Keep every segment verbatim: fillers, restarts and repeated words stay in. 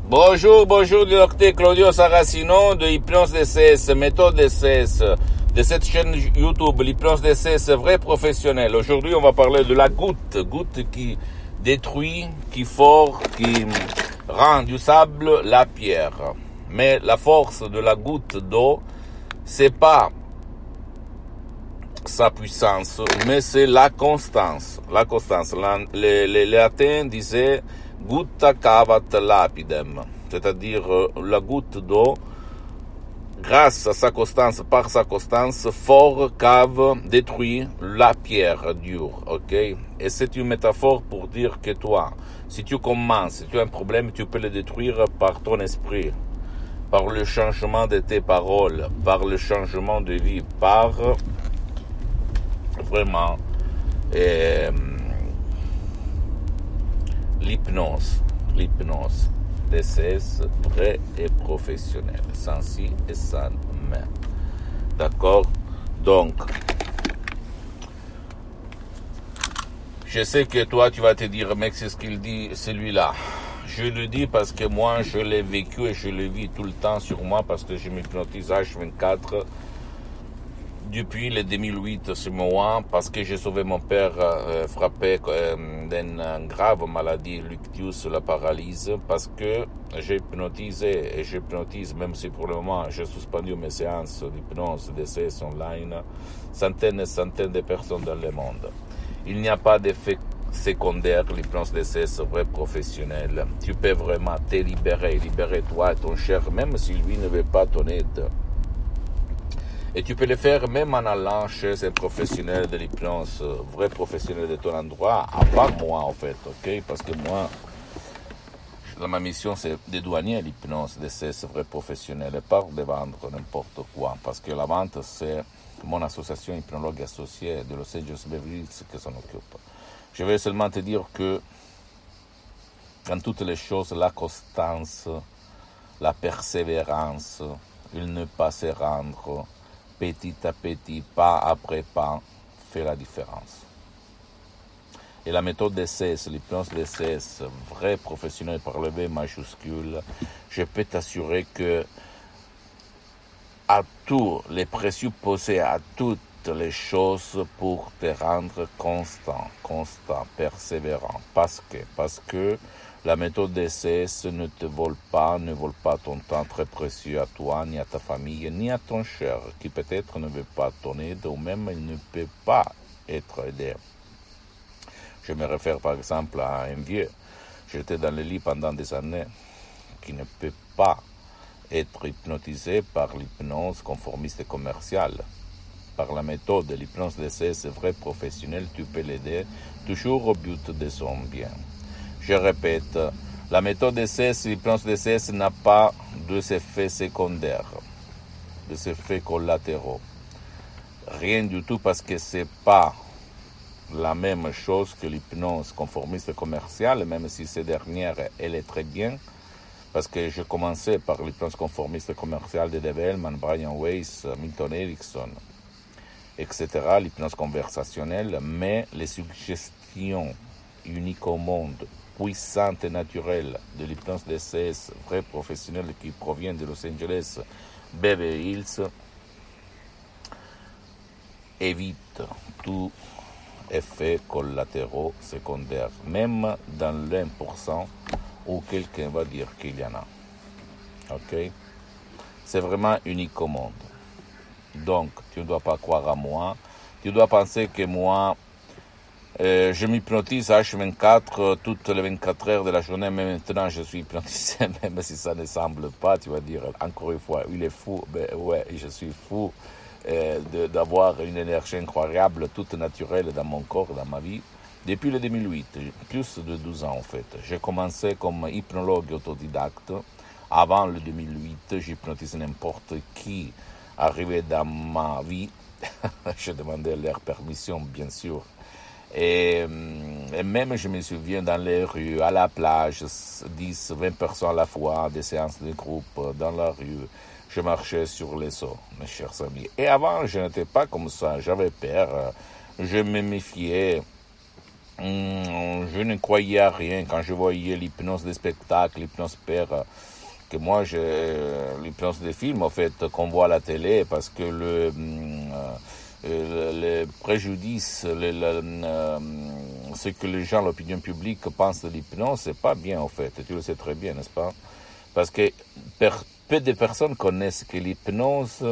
Bonjour, bonjour, du docteur Claudio Saracino de Hypnose D C S, méthode D C S, de cette chaîne YouTube, l'hypnose D C S, vrai professionnel. Aujourd'hui, on va parler de la goutte, goutte qui détruit, qui fort, qui rend du sable la pierre. Mais la force de la goutte d'eau, c'est pas sa puissance, mais c'est la constance. La constance. Les, les latins disaient gutta cavat lapidem, c'est-à-dire la goutte d'eau, grâce à sa constance, par sa constance, fort cave, détruit la pierre dure, ok? Et c'est une métaphore pour dire que toi, si tu commences, si tu as un problème, tu peux le détruire par ton esprit, par le changement de tes paroles, par le changement de vie, par vraiment euh, l'hypnose, l'hypnose, D C S vrai et professionnel, sans si et sans mais. D'accord? Donc, je sais que toi, tu vas te dire, mec, c'est ce qu'il dit, celui-là. Je le dis parce que moi, je l'ai vécu et je le vis tout le temps sur moi parce que je m'hypnotise H vingt-quatre depuis le deux mille huit, c'est moi, parce que j'ai sauvé mon père euh, frappé euh, d'une grave maladie, l'ictus, la paralyse, parce que j'ai hypnotisé et j'hypnotise, même si pour le moment j'ai suspendu mes séances d'hypnose D C S online, centaines et centaines de personnes dans le monde. Il n'y a pas d'effet secondaire, l'hypnose D C S vrai professionnel. Tu peux vraiment te libérer, libérer toi et ton cher, même si lui ne veut pas ton aide. Et tu peux le faire même en allant chez un professionnel de l'hypnose, vrai professionnel de ton endroit, avant moi en fait, ok? Parce que moi, ma mission c'est de douanier l'hypnose, de ces vrais professionnels, et pas de vendre n'importe quoi. Parce que la vente c'est mon association hypnologue associée de Los Angeles Beverly Hills qui s'en occupe. Je vais seulement te dire que dans toutes les choses, la constance, la persévérance, il ne pas se rendre, petit à petit, pas après pas, fait la différence. Et la méthode D C S, l'hypnose D C S, vrai professionnel par le V majuscule, je peux t'assurer que à tous les présupposés, à toutes les choses pour te rendre constant, constant, persévérant. Parce que, parce que la méthode D C S ne te vole pas, ne vole pas ton temps très précieux à toi, ni à ta famille, ni à ton cher, qui peut-être ne veut pas ton aide, ou même il ne peut pas être aidé. Je me réfère par exemple à un vieux. J'étais dans le lit pendant des années, qui ne peut pas être hypnotisé par l'hypnose conformiste et commerciale. Par la méthode de l'hypnose D C S vrai professionnel, tu peux l'aider toujours au but de son bien. Je répète, la méthode D C S, l'hypnose D C S n'a pas d'effets secondaires, des effets collatéraux. Rien du tout parce que c'est pas la même chose que l'hypnose conformiste commerciale, même si cette dernière, elle est très bien, parce que je commençais par l'hypnose conformiste commerciale de Dave Hellman, Brian Weiss, Milton Erickson, et cetera, l'hypnose conversationnelle, mais les suggestions uniques au monde, puissantes et naturelles de l'hypnose D C S, vrai professionnel qui provient de Los Angeles, Beverly Hills, évite tout effet collatéraux secondaires, même dans l'un pour cent où quelqu'un va dire qu'il y en a. Ok? C'est vraiment unique au monde. Donc, tu ne dois pas croire à moi. Tu dois penser que moi, euh, je m'hypnotise H vingt-quatre toutes les vingt-quatre heures de la journée. Mais maintenant, je suis hypnotisé, même si ça ne semble pas. Tu vas dire, encore une fois, il est fou. Ben ouais, je suis fou euh, de, d'avoir une énergie incroyable, toute naturelle dans mon corps, dans ma vie. Depuis le deux mille huit, plus de douze ans en fait. J'ai commencé comme hypnologue autodidacte. Avant le deux mille huit, j'hypnotisais n'importe qui arrivait dans ma vie. Je demandais leur permission, bien sûr. Et, et même, je me souviens, dans les rues, à la plage, dix, vingt personnes à la fois, des séances de groupe, dans la rue. Je marchais sur les eaux, mes chers amis. Et avant, je n'étais pas comme ça. J'avais peur. Je me méfiais hum, je ne croyais à rien quand je voyais l'hypnose des spectacles, l'hypnose père, que moi, je, l'hypnose des films, en fait, qu'on voit à la télé, parce que le, hum, euh, le, le préjudice, le, le, euh, ce que les gens, l'opinion publique pensent de l'hypnose, c'est pas bien, en fait. Tu le sais très bien, n'est-ce pas? Parce que per, peu de personnes connaissent que l'hypnose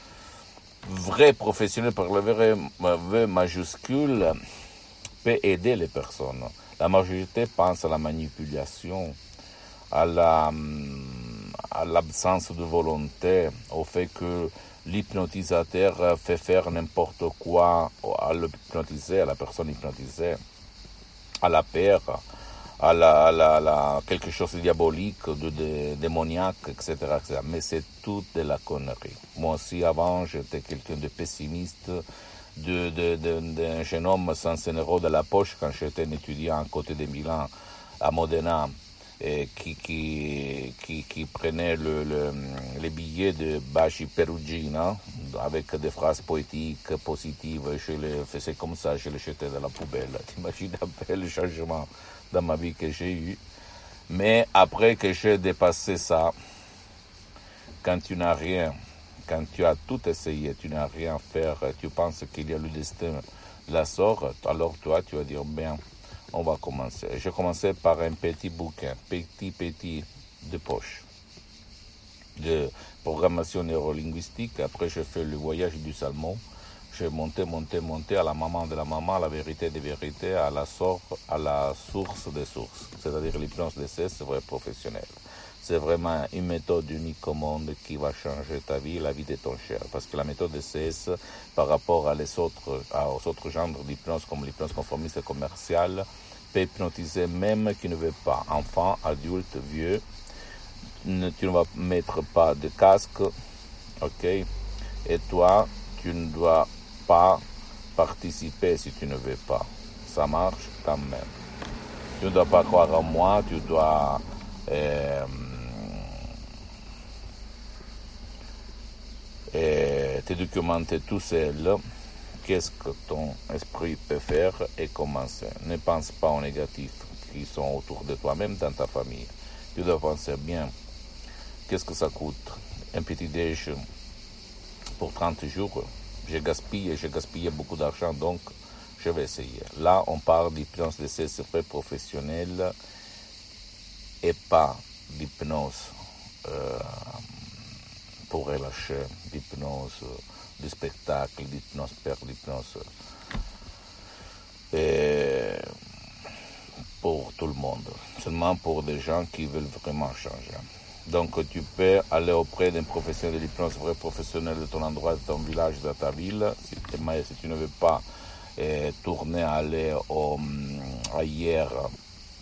vrai professionnel par le vrai V majuscule peut aider les personnes. La majorité pense à la manipulation, à la, à l'absence de volonté, au fait que l'hypnotisateur fait faire n'importe quoi à l'hypnotisé, à la personne hypnotisée, à la peur, à la, à la, à la quelque chose de diabolique, de, de démoniaque, et cetera, et cetera. Mais c'est tout de la connerie. Moi aussi, avant, j'étais quelqu'un de pessimiste, de, de, de, d'un jeune homme sans un euro de la poche quand j'étais un étudiant à côté de Milan, à Modena, et qui, qui, qui, qui prenait le, le, les billets de Baci Perugina avec des phrases poétiques, positives. Je les faisais comme ça, je les jetais dans la poubelle. T'imagines un peu le changement dans ma vie que j'ai eu. Mais après que j'ai dépassé ça, quand tu n'as rien, quand tu as tout essayé, tu n'as rien à faire, tu penses qu'il y a le destin, la sort, alors toi, tu vas dire, bien, on va commencer. J'ai commencé par un petit bouquin, petit, petit, de poche, de programmation neurolinguistique. Après, j'ai fait le voyage du salmon. J'ai monté, monté, monté à la maman de la maman, à la vérité des vérités, à la, sor- à la source des sources. C'est-à-dire l'hypnose de C, c'est vrai professionnel. C'est vraiment une méthode unique au monde qui va changer ta vie, la vie de ton cher. Parce que la méthode de C S, par rapport à les autres, aux autres genres d'hypnose, comme l'hypnose conformiste et commerciale, peut hypnotiser même qui ne veut pas. Enfant, adulte, vieux. Ne, tu ne vas mettre pas de casque, ok? Et toi, tu ne dois pas participer si tu ne veux pas. Ça marche quand même. Tu ne dois pas croire en moi, tu dois euh, euh, te documenter tout seul. Qu'est-ce que ton esprit peut faire et commencer. Ne pense pas aux négatifs qui sont autour de toi, même dans ta famille. Tu dois penser bien. Qu'est-ce que ça coûte? Un petit déj pour trente jours. J'ai gaspillé, j'ai gaspillé beaucoup d'argent, donc je vais essayer. Là, on parle d'hypnose de C S P professionnelle et pas d'hypnose euh, pour relâcher, d'hypnose de spectacle, d'hypnose per d'hypnose et pour tout le monde, seulement pour des gens qui veulent vraiment changer. Donc tu peux aller auprès d'un professionnel de l'hypnose, vrai professionnel de ton endroit, de ton village, de ta ville. Si, si tu ne veux pas eh, tourner, aller au, ailleurs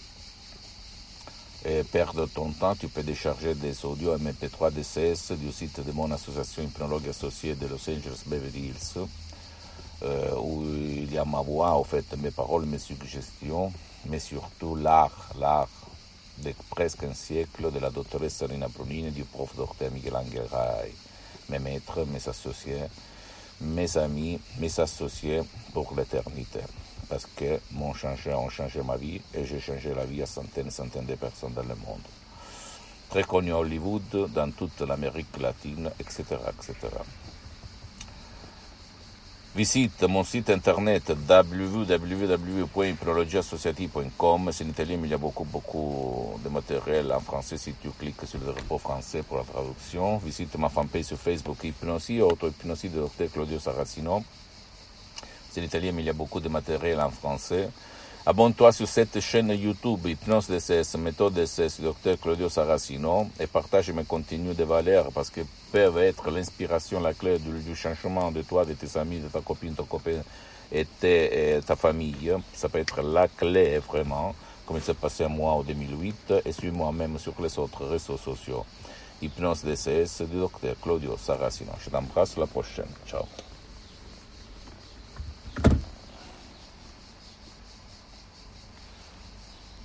et perdre ton temps, tu peux décharger des audios M P trois D C S du site de mon association hypnologue associée de Los Angeles Beverly Hills, euh, où il y a ma voix, en fait, mes paroles, mes suggestions, mais surtout l'art, l'art de presque un siècle de la doctoresse Rina Brunini, du prof docteur Miguel Angel Ray, mes maîtres, mes associés, mes amis, mes associés pour l'éternité. Parce que m'ont changé, ont changé ma vie et j'ai changé la vie à centaines et centaines de personnes dans le monde. Très connu à Hollywood, dans toute l'Amérique latine, et cetera, et cetera. Visite mon site internet w w w point hypnologie associative point com. C'est en italien, mais il y a beaucoup, beaucoup de matériel en français si tu cliques sur le repos français pour la traduction. Visite ma fanpage sur Facebook Hypnosie, auto-hypnosie de docteur Claudio Saracino. C'est en italien, mais il y a beaucoup de matériel en français. Abonne-toi sur cette chaîne YouTube, Hypnose D C S, méthode D C S, docteur Claudio Saracino, et partage mes contenus de valeur parce que peuvent être l'inspiration, la clé du, du changement de toi, de tes amis, de ta copine, ton copain et, tes, et ta famille. Ça peut être la clé vraiment, comme il s'est passé à moi en deux mille huit, et sur moi-même sur les autres réseaux sociaux. Hypnose D C S du docteur Claudio Saracino. Je t'embrasse, la prochaine. Ciao.